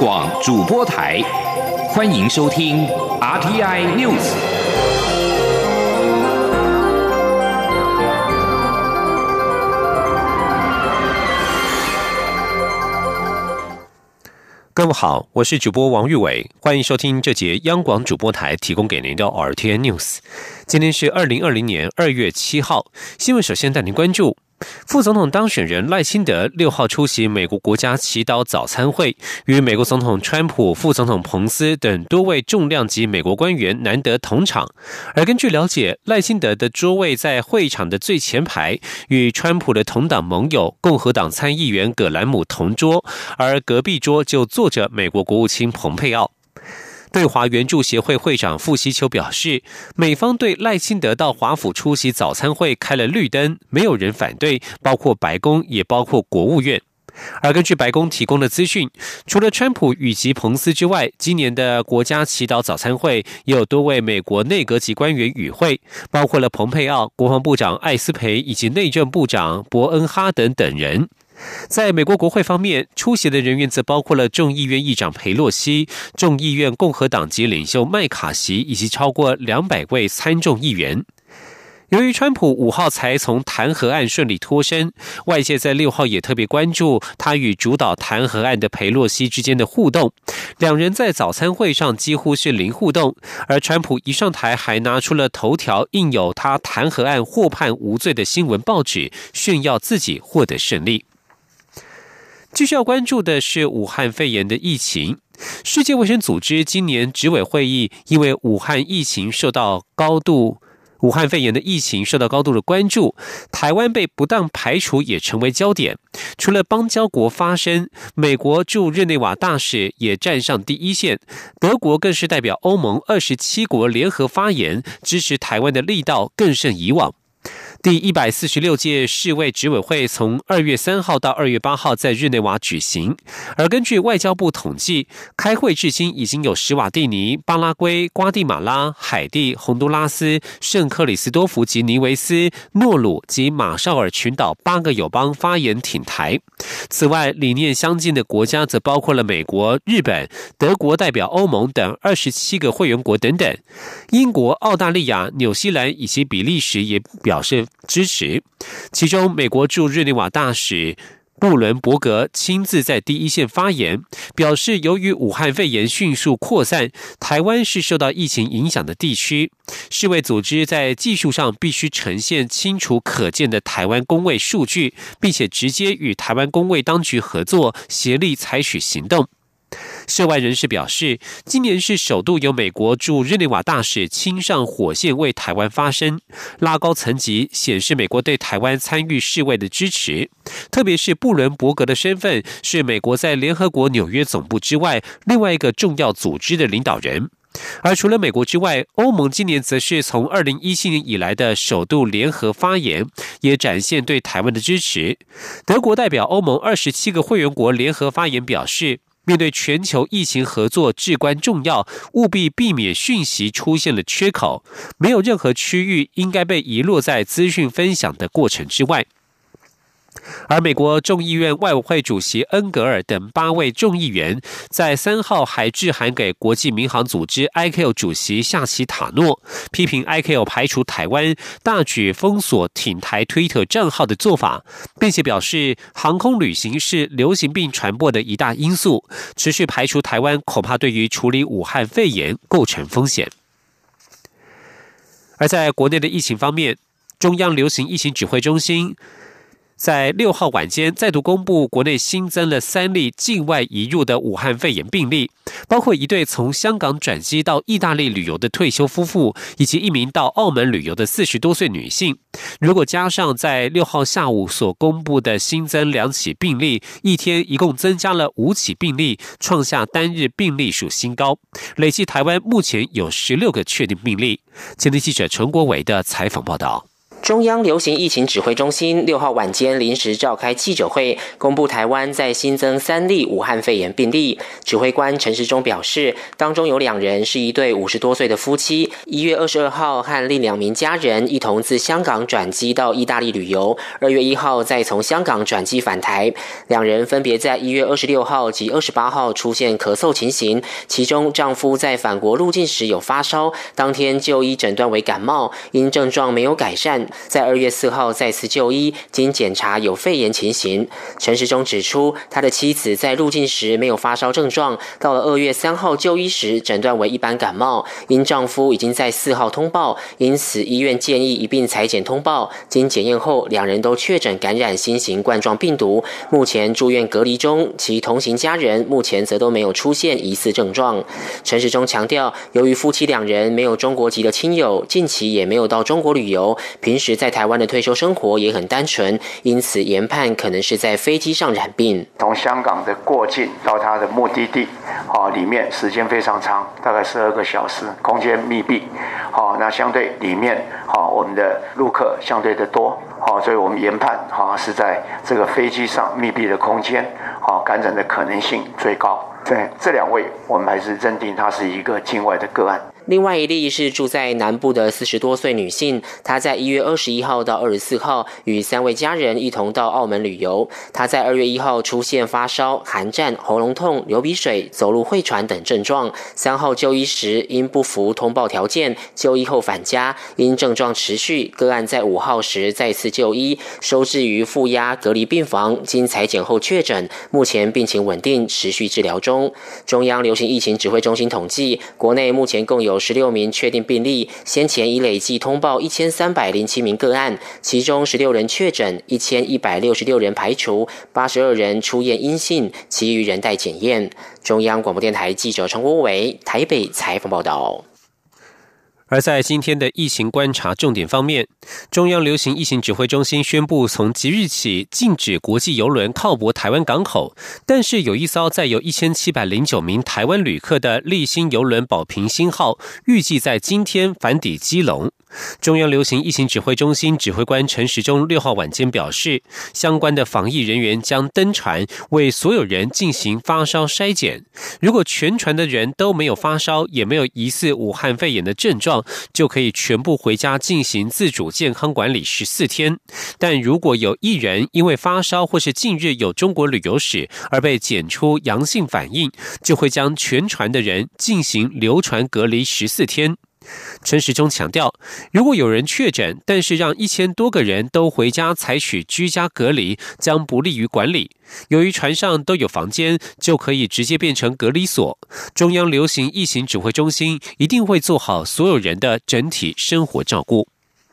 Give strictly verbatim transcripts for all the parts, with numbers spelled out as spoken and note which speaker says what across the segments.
Speaker 1: 广主播台，欢迎收听 R T I News。
Speaker 2: 各位好，我是主播王玉伟，欢迎收听这节央广主播台提供给您的 R T I News。今天是二零二零年二月七号，新闻首先带您关注。副总统当选人赖清德六号出席美国国家祈祷早餐会，与美国总统川普、副总统彭斯等多位重量级美国官员难得同场。而根据了解，赖清德的桌位在会场的最前排，与川普的同党盟友共和党参议员葛兰姆同桌，而隔壁桌就坐着美国国务卿蓬佩奥。对华援助协会会长傅希秋表示，美方对赖清德到华府出席早餐会开了绿灯，没有人反对，包括白宫，也包括国务院。而根据白宫提供的资讯，除了川普以及彭斯之外，今年的国家祈祷早餐会也有多位美国内阁级官员与会，包括了蓬佩奥、国防部长艾斯培以及内政部长伯恩哈等等人。在美国国会方面，出席的人员则包括了众议院议长裴洛西、众议院共和党籍领袖麦卡锡以及超过两百位参众议员。由于川普五号才从弹劾案顺利脱身，外界在六号也特别关注他与主导弹劾案的裴洛西之间的互动。两人在早餐会上几乎是零互动，而川普一上台还拿出了头条印有他弹劾案获判无罪的新闻报纸，炫耀自己获得胜利。继续要关注的是武汉肺炎的疫情。世界卫生组织今年执委会议因为武汉疫情受到高度武汉肺炎的疫情受到高度的关注，台湾被不当排除也成为焦点。除了邦交国发声，美国驻日内瓦大使也站上第一线，德国更是代表欧盟二十七国联合发言，支持台湾的力道更胜以往。第一百四十六届世卫执委会从二月三号到二月八号在日内瓦举行，而根据外交部统计，开会至今已经有史瓦蒂尼、巴拉圭、瓜地马拉、海地、洪都拉斯、圣克里斯多福及尼维斯、诺鲁及马绍尔群岛八个友邦发言挺台。此外，理念相近的国家则包括了美国、日本、德国代表欧盟等二十七个会员国等等。英国、澳大利亚、纽西兰以及比利时也表示支持。其中，美国驻日内瓦大使布伦伯格亲自在第一线发言，表示由于武汉肺炎迅速扩散，台湾是受到疫情影响的地区，世卫组织在技术上必须呈现清楚可见的台湾公卫数据，并且直接与台湾公卫当局合作，协力采取行动。涉外人士表示，今年是首度由美国驻日内瓦大使亲上火线为台湾发声，拉高层级，显示美国对台湾参与世卫的支持。特别是布伦伯格的身份是美国在联合国纽约总部之外另外一个重要组织的领导人。而除了美国之外，欧盟今年则是从二零一七年以来的首度联合发言，也展现对台湾的支持。德国代表欧盟二十七个会员国联合发言表示，面对全球疫情合作至关重要，务必避免讯息出现了缺口，没有任何区域应该被遗落在资讯分享的过程之外。而美国众议院外委会主席恩格尔等八位众议员在三号还致函给国际民航组织 I C A O 主席夏奇塔诺，批评 I C A O 排除台湾，大举封锁挺台推特账号的做法，并且表示航空旅行是流行病传播的一大因素，持续排除台湾恐怕对于处理武汉肺炎构成风险。而在国内的疫情方面，中央流行疫情指挥中心在六号晚间再度公布，国内新增了三例境外移入的武汉肺炎病例，包括一对从香港转机到意大利旅游的退休夫妇，以及一名到澳门旅游的四十多岁女性。如果加上在六号下午所公布的新增两起病例，一天一共增加了五起病例，创下单日病例数新高。累计台湾目前有十六个确定病例。前天记者陈国伟的采访报道。
Speaker 3: 中央流行疫情指挥中心六号晚间临时召开记者会，公布台湾在新增三例武汉肺炎病例。指挥官陈时中表示，当中有两人是一对五十多岁的夫妻，一月二十二号和另两名家人一同自香港转机到意大利旅游，二月一号再从香港转机返台。两人分别在一月二十六号及二十八号出现咳嗽情形，其中丈夫在返国入境时有发烧，当天就医诊断为感冒，因症状没有改善。在二月四号再次就医，经检查有肺炎情形。陈时中指出，他的妻子在入境时没有发烧症状，到了二月三号就医时诊断为一般感冒，因丈夫已经在四号通报，因此医院建议一并采检通报。经检验后，两人都确诊感染新型冠状病毒，目前住院隔离中，其同行家人目前则都没有出现疑似症状。陈时中强调，由于夫妻两人没有中国籍的亲友，近期也没有到中国旅游，平时在台湾的退休生活也很单纯，因此研判可能是在飞机上染病。
Speaker 4: 从香港的过境到他的目的地，哦，里面时间非常长，大概十二个小时，空间密闭，哦，那相对里面，哦，我们的陆客相对的多，哦，所以我们研判，哦，是在这个飞机上密闭的空间，哦，感染的可能性最高。对，这两位我们还是认定他是一个境外的个案。
Speaker 3: 另外一例是住在南部的四十多岁女性，她在一月二十一号到二十四号与三位家人一同到澳门旅游。她在二月一号出现发烧、寒战、喉咙痛、流鼻水、走路会喘等症状。三号就医时因不符通报条件，就医后返家，因症状持续，个案在五号时再次就医，收治于负压隔离病房，经采检后确诊，目前病情稳定，持续治疗中。中央流行疫情指挥中心统计，国内目前共有有十六名确定病例，先前已累计通报一千三百零七名个案，其中十六人确诊，一千一百六十六人排除，八十二人出验阴性，其余仍待检验。中央广播电台记者陈国伟台北采访报道。
Speaker 2: 而在今天的疫情观察重点方面，中央流行疫情指挥中心宣布，从即日起禁止国际邮轮靠泊台湾港口，但是有一艘载有一千七百零九名台湾旅客的立新邮轮保平星号，预计在今天返抵基隆。中央流行疫情指挥中心指挥官陈时中六号晚间表示，相关的防疫人员将登船为所有人进行发烧筛检，如果全船的人都没有发烧，也没有疑似武汉肺炎的症状，就可以全部回家进行自主健康管理十四天。但如果有一人因为发烧或是近日有中国旅游史而被检出阳性反应，就会将全船的人进行留船隔离十四天。陈时中强调，如果有人确诊，但是让一千多个人都回家采取居家隔离，将不利于管理。由于船上都有房间，就可以直接变成隔离所。中央流行疫情指挥中心一定会做好所有人的整体生活照顾。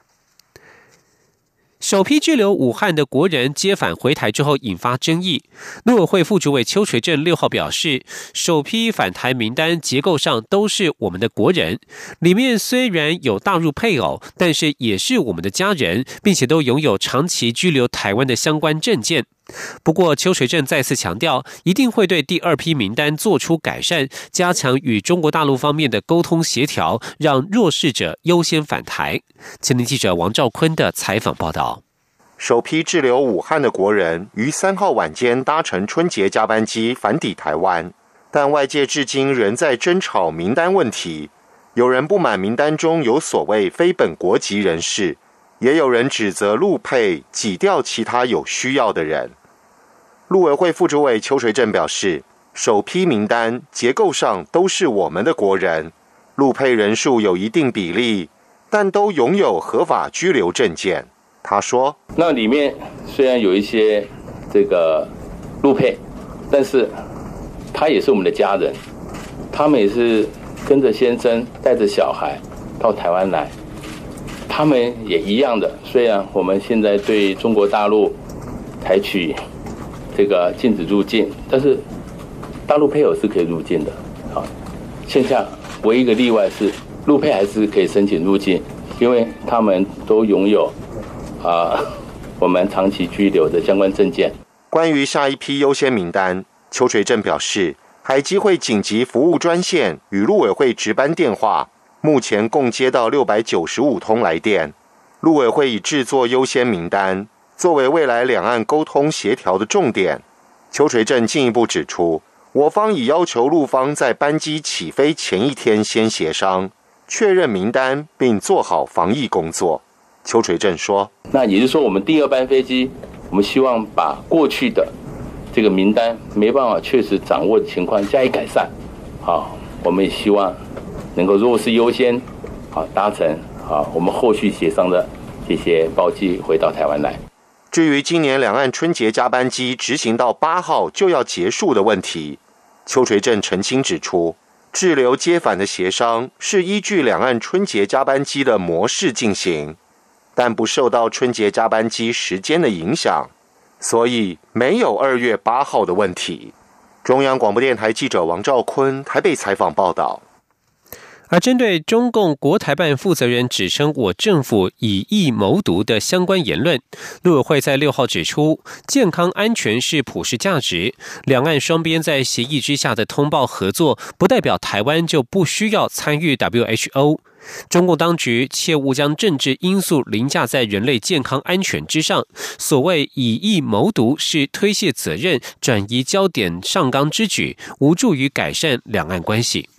Speaker 2: 首批滞留武汉的国人接返回台之后引发争议，陆委会副主委邱垂正六号表示，首批返台名单结构上都是我们的国人，里面虽然有大陆配偶，但是也是我们的家人，并且都拥有长期居留台湾的相关证件。不过邱垂正再次强调，一定会对第二批名单做出改善，加强与中国大陆方面的沟通协调，让弱势者优先返台。前天记者王兆坤的采访报道。
Speaker 5: 首批滞留武汉的国人于三号晚间搭乘春节加班机返抵台湾，但外界至今仍在争吵名单问题。有人不满名单中有所谓非本国籍人士，也有人指责陆配挤掉其他有需要的人。陆委会副主委邱垂正表示，首批名单结构上都是我们的国人，陆配人数有一定比例，但都拥有合法居留证件。他说，
Speaker 6: 那里面虽然有一些这个陆配，但是他也是我们的家人，他们也是跟着先生带着小孩到台湾来，他们也一样的，虽然我们现在对中国大陆采取这个禁止入境，但是大陆配偶是可以入境的。好，现在唯一一个例外是陆配还是可以申请入境，因为他们都拥有啊、呃、我们长期居留的相关证件。
Speaker 5: 关于下一批优先名单，邱垂正表示，海基会紧急服务专线与陆委会值班电话，目前共接到六百九十五通来电， 陆委会已制作优先名单，作为未来两岸沟通协调的重点。邱垂正进一步指出，我方已要求陆方在班机起飞前一天先协商，确认名单并做好防疫工作。邱垂正说，
Speaker 6: 那也就是说，我们第二班飞机，我们希望把过去的这个名单没办法确实掌握的情况加以改善。好，我们也希望能够弱势优先，好达成好我们后续协商的这些包机回到台湾来。
Speaker 5: 至于今年两岸春节加班机执行到八号就要结束的问题，邱垂正澄清指出，滞留接返的协商是依据两岸春节加班机的模式进行，但不受到春节加班机时间的影响，所以没有二月八号的问题。中央广播电台记者王兆坤台北采访报道。
Speaker 2: 而针对中共国台办负责人指称我政府以疫谋独的相关言论，陆委会在六号指出，健康安全是普世价值，两岸双边在协议之下的通报合作，不代表台湾就不需要参与 W H O。中共当局切勿将政治因素凌驾在人类健康安全之上，所谓以疫谋独是推卸责任、转移焦点上纲之举，无助于改善两岸关系。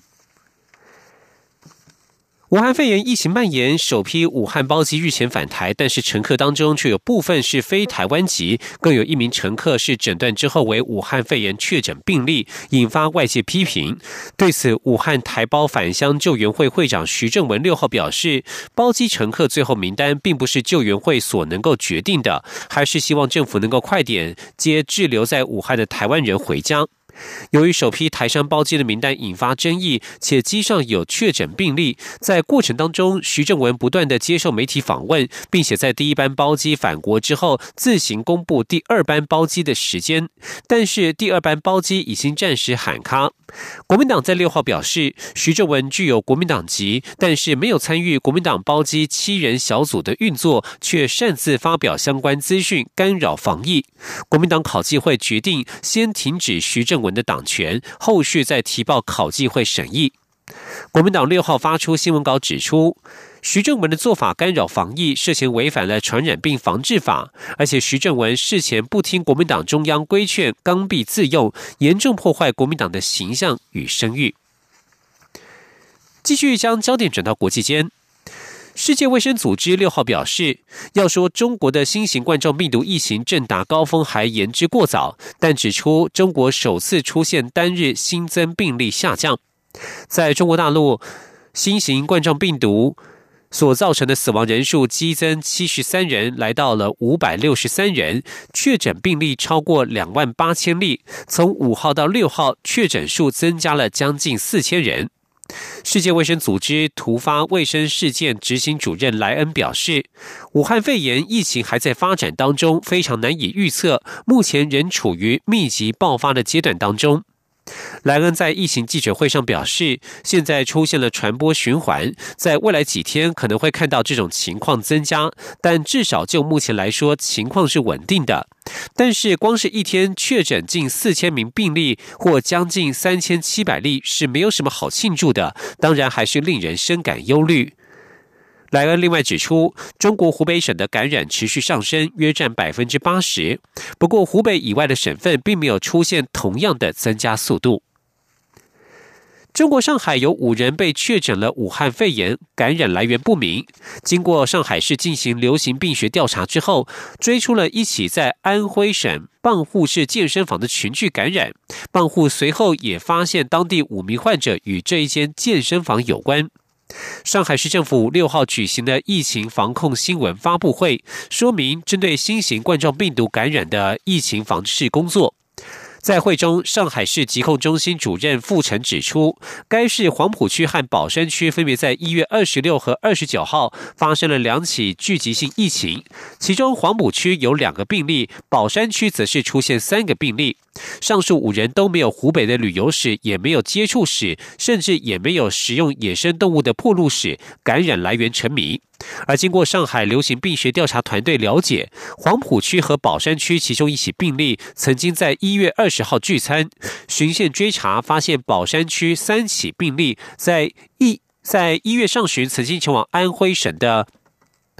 Speaker 2: 武汉肺炎疫情蔓延，首批武汉包机日前返台，但是乘客当中却有部分是非台湾籍，更有一名乘客是诊断之后为武汉肺炎确诊病例，引发外界批评。对此，武汉台胞返乡救援会会长徐正文六号表示，包机乘客最后名单并不是救援会所能够决定的，还是希望政府能够快点接滞留在武汉的台湾人回家。由于首批台商包机的名单引发争议，且机上有确诊病例，在过程当中，徐正文不断的接受媒体访问，并且在第一班包机返国之后，自行公布第二班包机的时间。但是第二班包机已经暂时喊卡。国民党在六号表示，徐正文具有国民党籍，但是没有参与国民党包机七人小组的运作，却擅自发表相关资讯，干扰防疫。国民党考纪会决定先停止徐正文的党权，后续再提报考纪会审议。国民党六号发出新闻稿指出，徐正文的做法干扰防疫，涉嫌违反了传染病防治法，而且徐正文事前不听国民党中央规劝，刚愎自用，严重破坏国民党的形象与声誉。继续将焦点转到国际间，世界卫生组织六号表示，要说中国的新型冠状病毒疫情正达高峰还言之过早，但指出中国首次出现单日新增病例下降。在中国大陆，新型冠状病毒所造成的死亡人数激增七十三人，来到了五百六十三人，确诊病例超过两万八千例，从五号到六号确诊数增加了将近四千人。世界卫生组织突发卫生事件执行主任莱恩表示，武汉肺炎疫情还在发展当中，非常难以预测，目前仍处于密集爆发的阶段当中。莱恩在疫情记者会上表示，现在出现了传播循环，在未来几天可能会看到这种情况增加，但至少就目前来说，情况是稳定的。但是光是一天确诊近四千名病例或将近三千七百例是没有什么好庆祝的，当然还是令人深感忧虑。莱恩另外指出，中国湖北省的感染持续上升，约占 百分之八十。不过湖北以外的省份并没有出现同样的增加速度。中国上海有五人被确诊了武汉肺炎，感染来源不明。经过上海市进行流行病学调查之后，追出了一起在安徽省蚌埠市健身房的群聚感染。蚌埠随后也发现当地五名患者与这一间健身房有关。上海市政府六号举行了疫情防控新闻发布会，说明针对新型冠状病毒感染的疫情防治工作。在会中，上海市疾控中心主任傅晨指出，该市黄浦区和宝山区分别在一月二十六和二十九号发生了两起聚集性疫情，其中黄浦区有两个病例，宝山区则是出现三个病例。上述五人都没有湖北的旅游史，也没有接触史，甚至也没有食用野生动物的暴露史，感染来源成谜。而经过上海流行病学调查团队了解，黄浦区和宝山区其中一起病例曾经在一月二十号聚餐，循线追查发现宝山区三起病例在一在一月上旬曾经前往安徽省的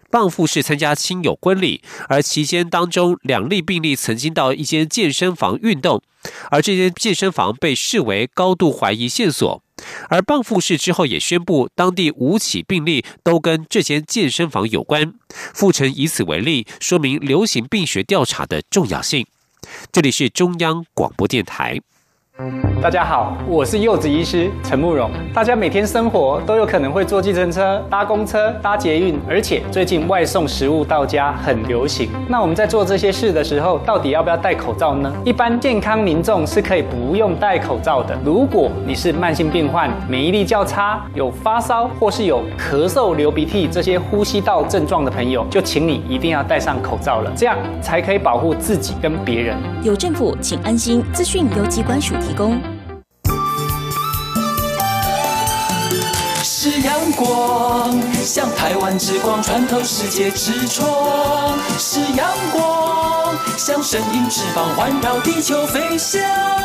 Speaker 2: 蚌埠市参加亲友婚礼，而期间当中两例病例曾经到一间健身房运动，而这间健身房被视为高度怀疑线索。而蚌埠市之后也宣布，当地五起病例都跟这间健身房有关。傅成以此为例，说明流行病学调查的重要性。这里是中央广播电台。
Speaker 7: 大家好，我是柚子医师陈慕容。大家每天生活都有可能会坐计程车、搭公车、搭捷运，而且最近外送食物到家很流行。那我们在做这些事的时候，到底要不要戴口罩呢？一般健康民众是可以不用戴口罩的。如果你是慢性病患、免疫力较差、有发烧或是有咳嗽、流鼻涕这些呼吸道症状的朋友，就请你一定要戴上口罩了，这样才可以保护自己跟别人。
Speaker 8: 有政府，请安心。资讯由疾管署提供。
Speaker 9: 是阳光，像台湾之光穿透世界之窗；是阳光，像神鹰翅膀环绕地球飞翔。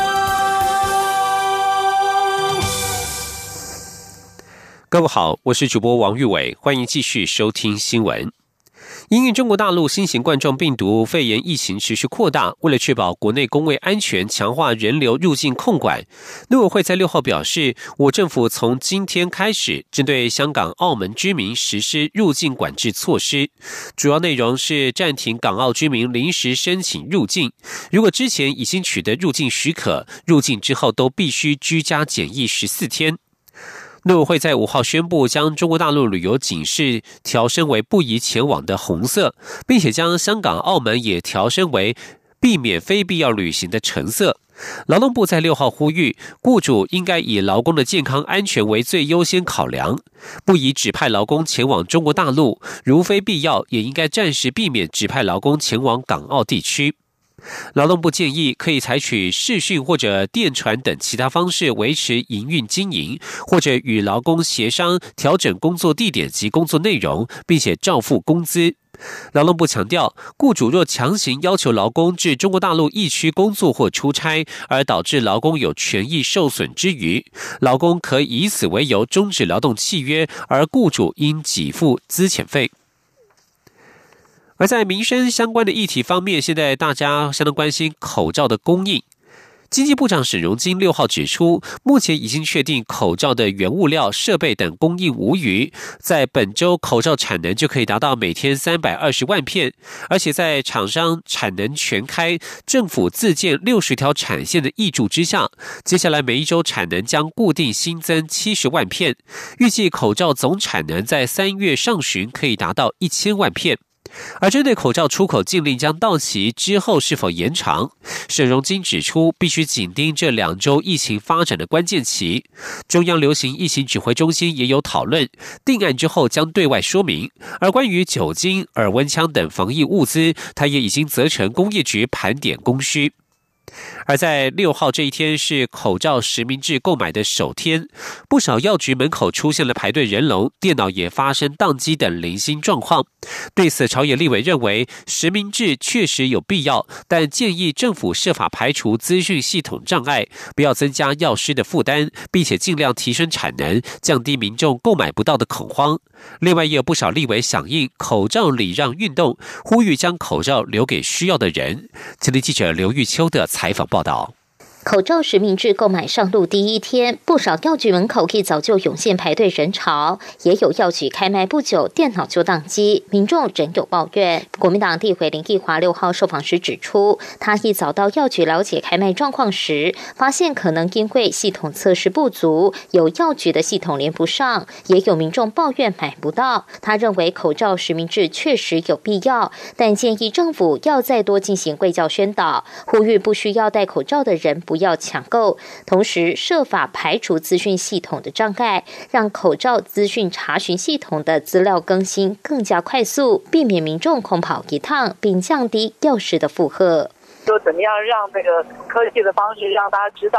Speaker 2: 各位好，我是主播王玉伟，欢迎继续收听新闻。因应中国大陆新型冠状病毒肺炎疫情持续扩大，为了确保国内公卫安全，强化人流入境控管，陆委会在六号表示，我政府从今天开始针对香港、澳门居民实施入境管制措施，主要内容是暂停港澳居民临时申请入境，如果之前已经取得入境许可，入境之后都必须居家检疫十四天。陆委会在五号宣布，将中国大陆旅游警示调升为不宜前往的红色，并且将香港、澳门也调升为避免非必要旅行的橙色。劳动部在六号呼吁，雇主应该以劳工的健康安全为最优先考量，不宜指派劳工前往中国大陆，如非必要，也应该暂时避免指派劳工前往港澳地区。劳动部建议可以采取视讯或者电传等其他方式维持营运经营，或者与劳工协商调整工作地点及工作内容，并且照付工资。劳动部强调，雇主若强行要求劳工至中国大陆疫区工作或出差，而导致劳工有权益受损之余，劳工可以此为由终止劳动契约，而雇主应给付资遣费。而在民生相关的议题方面，现在大家相当关心口罩的供应。经济部长沈荣津六号指出，目前已经确定口罩的原物料、设备等供应无虞，在本周口罩产能就可以达到每天三百二十万片，而且在厂商产能全开、政府自建六十条产线的挹注之下，接下来每一周产能将固定新增七十万片，预计口罩总产能在三月上旬可以达到一千万片。而针对口罩出口禁令将到期之后是否延长，沈荣津指出，必须紧盯这两周疫情发展的关键期。中央流行疫情指挥中心也有讨论，定案之后将对外说明。而关于酒精、耳温枪等防疫物资，他也已经责成工业局盘点供需。而在六号这一天是口罩实名制购买的首天，不少药局门口出现了排队人龙，电脑也发生宕机等零星状况。对此，朝野立委认为实名制确实有必要，但建议政府设法排除资讯系统障碍，不要增加药师的负担，并且尽量提升产能，降低民众购买不到的恐慌。另外，也有不少立委响应口罩礼让运动，呼吁将口罩留给需要的人。前天记者刘玉秋的采访报道。
Speaker 10: 口罩实名制购买上路第一天，不少药局门口一早就涌现排队人潮，也有药局开卖不久，电脑就宕机，民众仍有抱怨。国民党立委林奕华六号受访时指出，他一早到药局了解开卖状况时，发现可能因为系统测试不足，有药局的系统连不上，也有民众抱怨买不到。他认为口罩实名制确实有必要，但建议政府要再多进行卫教宣导，呼吁不需要戴口罩的人不不要抢购，同时设法排除资讯系统的障碍，让口罩资讯查询系统的资料更新更加快速，避免民众空跑一趟，并降低药师的负荷。
Speaker 11: 就怎么样让这个科技的方式让大家知道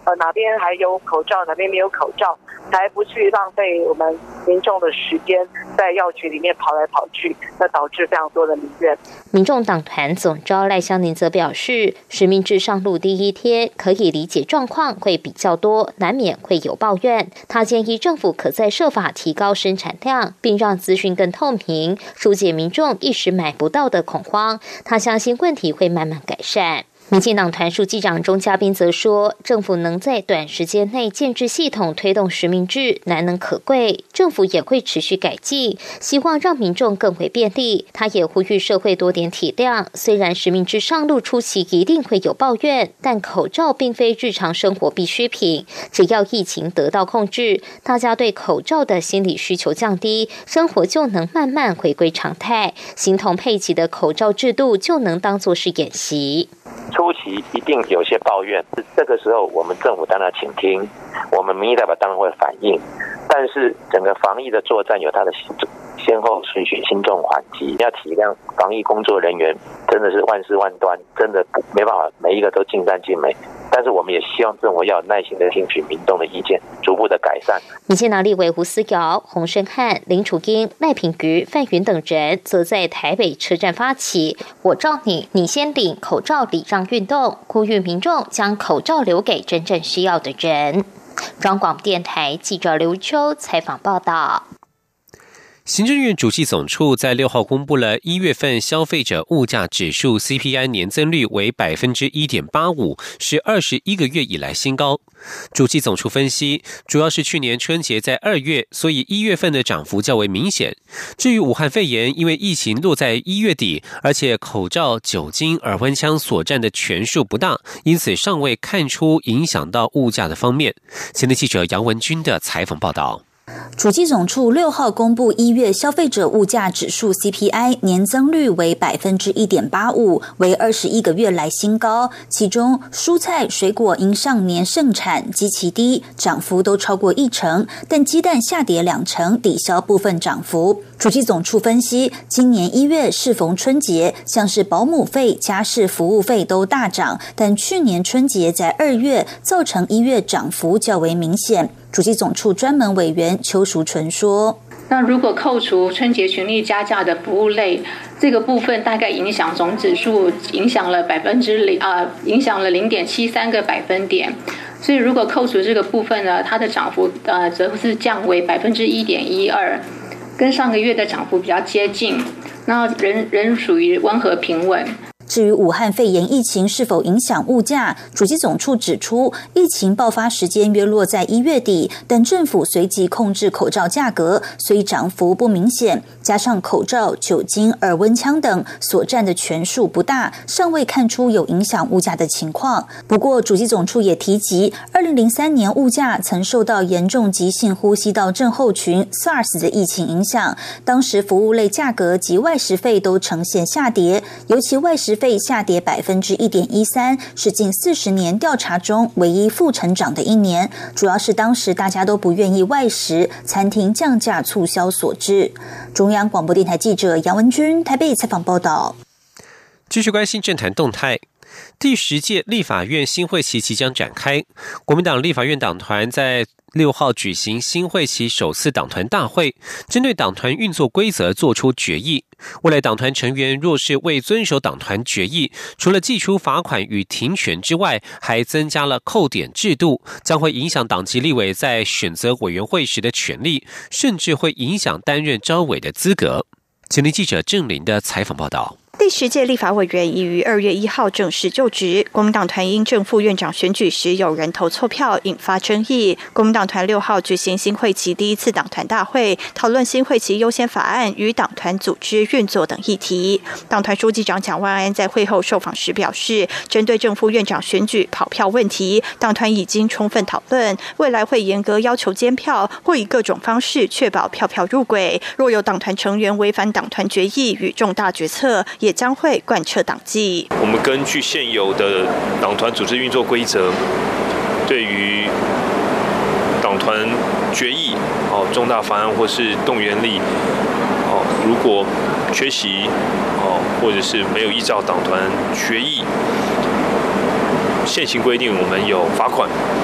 Speaker 11: 呃哪边还有口罩，哪边没有口罩，才不去浪费我们民众的时间在药局里面跑来跑去，那导致非常多的民怨。
Speaker 10: 民众党团总召赖香伶则表示，实名制上路第一天，可以理解状况会比较多，难免会有抱怨。他建议政府可再设法提高生产量，并让资讯更透明，疏解民众一时买不到的恐慌。他相信问题会慢慢改善。民进党团书记长钟嘉宾则说，政府能在短时间内建制系统推动实名制难能可贵，政府也会持续改进，希望让民众更为便利。他也呼吁社会多点体谅，虽然实名制上路初期一定会有抱怨，但口罩并非日常生活必需品，只要疫情得到控制，大家对口罩的心理需求降低，生活就能慢慢回归常态，形同配给的口罩制度就能当作是演习。
Speaker 12: 初期一定有些抱怨，这个时候我们政府当然倾听，我们民意代表当然会反映，但是整个防疫的作战有它的先后顺序，轻重缓急，要体谅防疫工作人员真的是万事万端，真的没办法每一个都尽善尽美，但是我们也希望政府要有耐心的听取民众的意见，逐步的改善。
Speaker 10: 民进党立委胡思瑶、洪申翰、林楚英、赖品妤、范云等人则在台北车站发起“我罩你，你先领”口罩礼让运动，呼吁民众将口罩留给真正需要的人。中央广播电台记者刘秋采访报道。
Speaker 2: 行政院主计总处在六号公布了一月份消费者物价指数 C P I 年增率为 百分之一点八五， 是二十一个月以来新高。主计总处分析，主要是去年春节在二月，所以一月份的涨幅较为明显。至于武汉肺炎，因为疫情落在一月底，而且口罩、酒精、耳温枪所占的权数不大，因此尚未看出影响到物价的方面。前天记者杨文君的采访报道。
Speaker 13: 主计总处六号公布一月消费者物价指数 C P I 年增率为 百分之一点八五， 为二十一个月来新高，其中蔬菜水果因上年盛产极其低，涨幅都超过一成，但鸡蛋下跌两成，抵消部分涨幅。主计总处分析，今年一月适逢春节，像是保姆费、家事服务费都大涨，但去年春节在二月，造成一月涨幅较为明显。主计总处专门委员邱淑纯说，
Speaker 14: 那如果扣除春节群力加价的服务类，这个部分大概影响总指数影响了百分之零啊，影响了零点七三个百分点。所以如果扣除这个部分呢，它的涨幅呃则是降为百分之一点一二，跟上个月的涨幅比较接近，那仍仍属于温和平稳。
Speaker 13: 至于武汉肺炎疫情是否影响物价，主计总处指出，疫情爆发时间约落在一月底，但政府随即控制口罩价格，虽涨幅不明显，加上口罩、酒精、耳温枪等所占的权数不大，尚未看出有影响物价的情况。不过，主计总处也提及，二零零三年物价曾受到严重急性呼吸道症候群 SARS 的疫情影响，当时服务类价格及外食费都呈现下跌，尤其外食费下跌 百分之一点一三， 是近四十年调查中唯一负成长的一年，主要是当时大家都不愿意外食，餐厅降价促销所致。中央广播电台记者杨文君台北采访报道。
Speaker 2: 继续关心政坛动态。第十届立法院新会期即将展开，国民党立法院党团在六号举行新会期首次党团大会，针对党团运作规则作出决议。未来党团成员若是未遵守党团决议，除了祭出罚款与停权之外，还增加了扣点制度，将会影响党籍立委在选择委员会时的权利，甚至会影响担任召委的资格。前天记者郑林的采访报道。
Speaker 15: 第十届立法委员已于二月一号正式就职。国民党团因正副院长选举时有人投错票，引发争议。国民党团六号举行新会期第一次党团大会，讨论新会期优先法案与党团组织运作等议题。党团书记长蒋万安在会后受访时表示，针对正副院长选举跑票问题，党团已经充分讨论，未来会严格要求监票，或以各种方式确保票票入轨。若有党团成员违反党团决议与重大决策，也将会贯彻党纪。
Speaker 16: 我们根据现有的党团组织运作规则，对于党团决议、哦重大法案或是动员令，哦如果缺席，哦或者是没有依照党团决议现行规定，我们有罚款，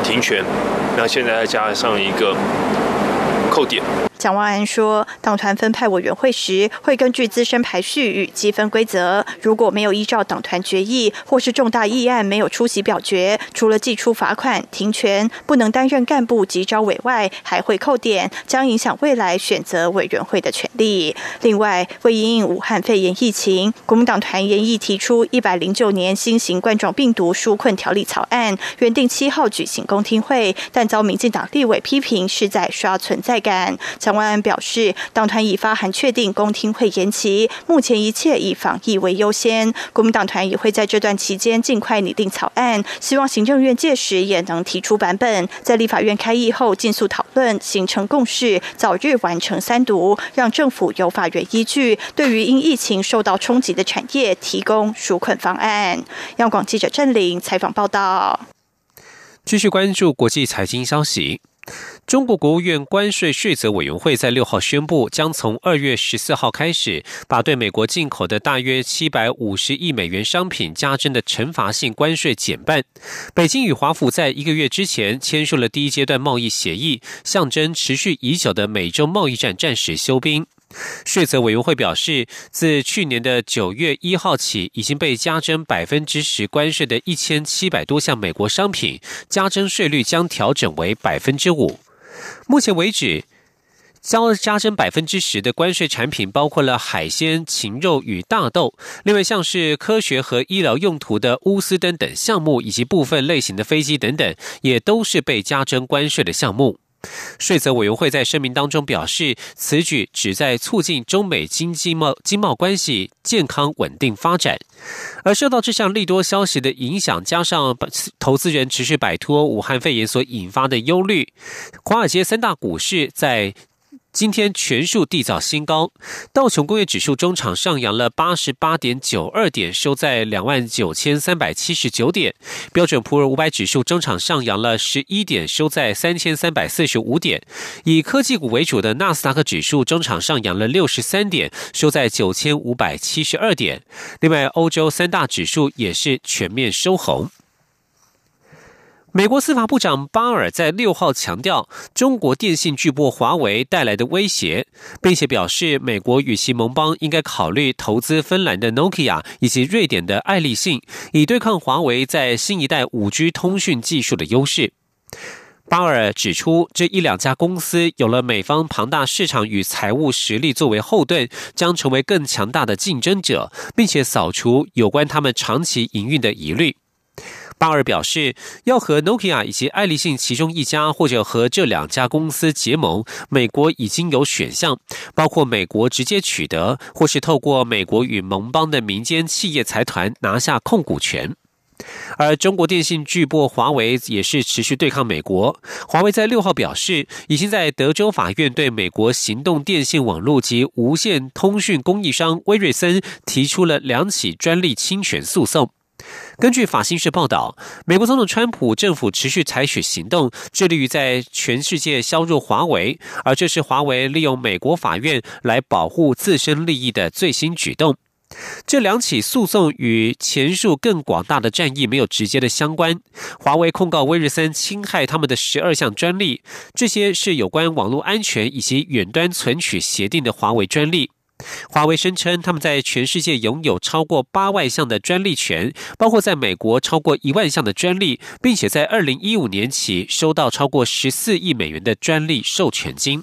Speaker 16: 停权，那现在再加上一个扣点。
Speaker 15: 蒋万安说，党团分派委员会时会根据资深排序与积分规则，如果没有依照党团决议或是重大议案没有出席表决，除了记出罚款、停权、不能担任干部及召委外，还会扣点，将影响未来选择委员会的权利。另外，为因应武汉肺炎疫情，国民党团研议提出一百零九年新型冠状病毒纾困条例草案，原定七号举行公听会，但遭民进党立委批评是在刷存在感。蒋万安表示，党团已发函确定公听会延期，目前一切以防疫为优先。国民党团也会在这段期间尽快拟定草案，希望行政院届时也能提出版本，在立法院开议后尽速讨论，形成共识，早日完成三读，让政府有法源依据，对于因疫情受到冲击的产业提供纾困方案。央广记者郑玲采访报道。
Speaker 2: 继续关注国际财经消息。中国国务院关税税则委员会在六号宣布，将从二月十四号开始，把对美国进口的大约七百五十亿美元商品加征的惩罚性关税减半。北京与华府在一个月之前签署了第一阶段贸易协议，象征持续已久的美洲贸易战暂时休兵。税则委员会表示，自去年的九月一号起，已经被加征百分之十关税的一千七百多项美国商品，加征税率将调整为百分之五。目前为止，交加征百分之十的关税产品包括了海鲜、禽肉与大豆，另外像是科学和医疗用途的钨丝灯等项目，以及部分类型的飞机等等，也都是被加征关税的项目。税则委员会在声明当中表示，此举旨在促进中美经济贸经贸关系健康稳定发展。而受到这项利多消息的影响，加上投资人持续摆脱武汉肺炎所引发的忧虑，华尔街三大股市在今天全数缔造新高，道琼工业指数中场上扬了 八十八点九二 点，收在 两万九千三百七十九 点；标准普尔五百指数中场上扬了十一点，收在 三千三百四十五 点；以科技股为主的纳斯达克指数中场上扬了六十三点，收在 九千五百七十二 点。另外，欧洲三大指数也是全面收红。美国司法部长巴尔在六号强调中国电信巨擘华为带来的威胁，并且表示美国与其盟邦应该考虑投资芬兰的 Nokia 以及瑞典的爱立信，以对抗华为在新一代 五 G 通讯技术的优势。巴尔指出，这一两家公司有了美方庞大市场与财务实力作为后盾，将成为更强大的竞争者，并且扫除有关他们长期营运的疑虑。巴尔表示，要和 Nokia 以及爱立信其中一家或者和这两家公司结盟，美国已经有选项，包括美国直接取得，或是透过美国与盟邦的民间企业财团拿下控股权。而中国电信巨擘华为也是持续对抗美国。华为在六号表示，已经在德州法院对美国行动电信网络及无线通讯供应商威瑞森提出了两起专利侵权诉讼。根据法新社报道，美国总统川普政府持续采取行动，致力于在全世界削弱华为，而这是华为利用美国法院来保护自身利益的最新举动。这两起诉讼与前述更广大的战役没有直接的相关。华为控告威瑞森侵害他们的十二项专利，这些是有关网络安全以及远端存取协定的华为专利。华为声称他们在全世界拥有超过八万项的专利权，包括在美国超过一万项的专利，并且在二零一五年起收到超过十四亿美元的专利授权金。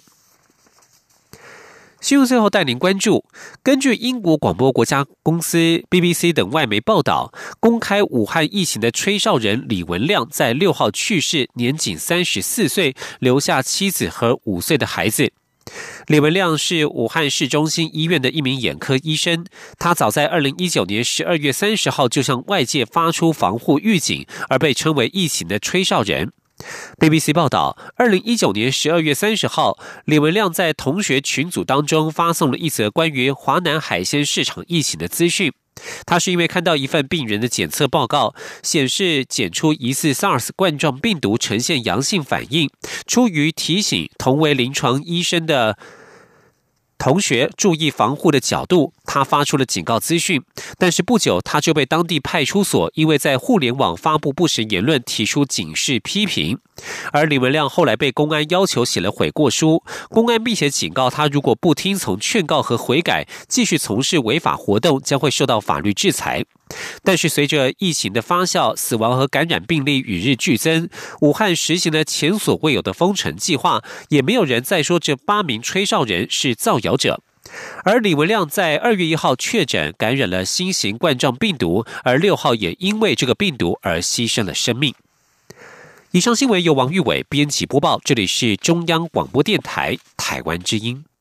Speaker 2: 新闻最后带您关注，根据英国广播国家公司 B B C 等外媒报道，公开武汉疫情的吹哨人李文亮在六号去世，年仅三十四岁，留下妻子和五岁的孩子。李文亮是武汉市中心医院的一名眼科医生，他早在二零一九年十二月三十号就向外界发出防护预警，而被称为疫情的吹哨人。B B C 报道，二零一九年十二月三十号，李文亮在同学群组当中发送了一则关于华南海鲜市场疫情的资讯。他是因为看到一份病人的检测报告，显示检出疑似 SARS 冠状病毒呈现阳性反应，出于提醒同为临床医生的同学注意防护的角度，他发出了警告资讯，但是不久他就被当地派出所因为在互联网发布不实言论提出警示批评。而李文亮后来被公安要求写了悔过书，公安并且警告他，如果不听从劝告和悔改，继续从事违法活动，将会受到法律制裁。但是随着疫情的发酵，死亡和感染病例与日俱增，武汉实行了前所未有的封城计划，也没有人再说这八名吹哨人是造谣者。而李文亮在二月一号确诊感染了新型冠状病毒，而六号也因为这个病毒而牺牲了生命。以上新闻由王玉伟编辑播报，这里是中央广播电台台湾之音。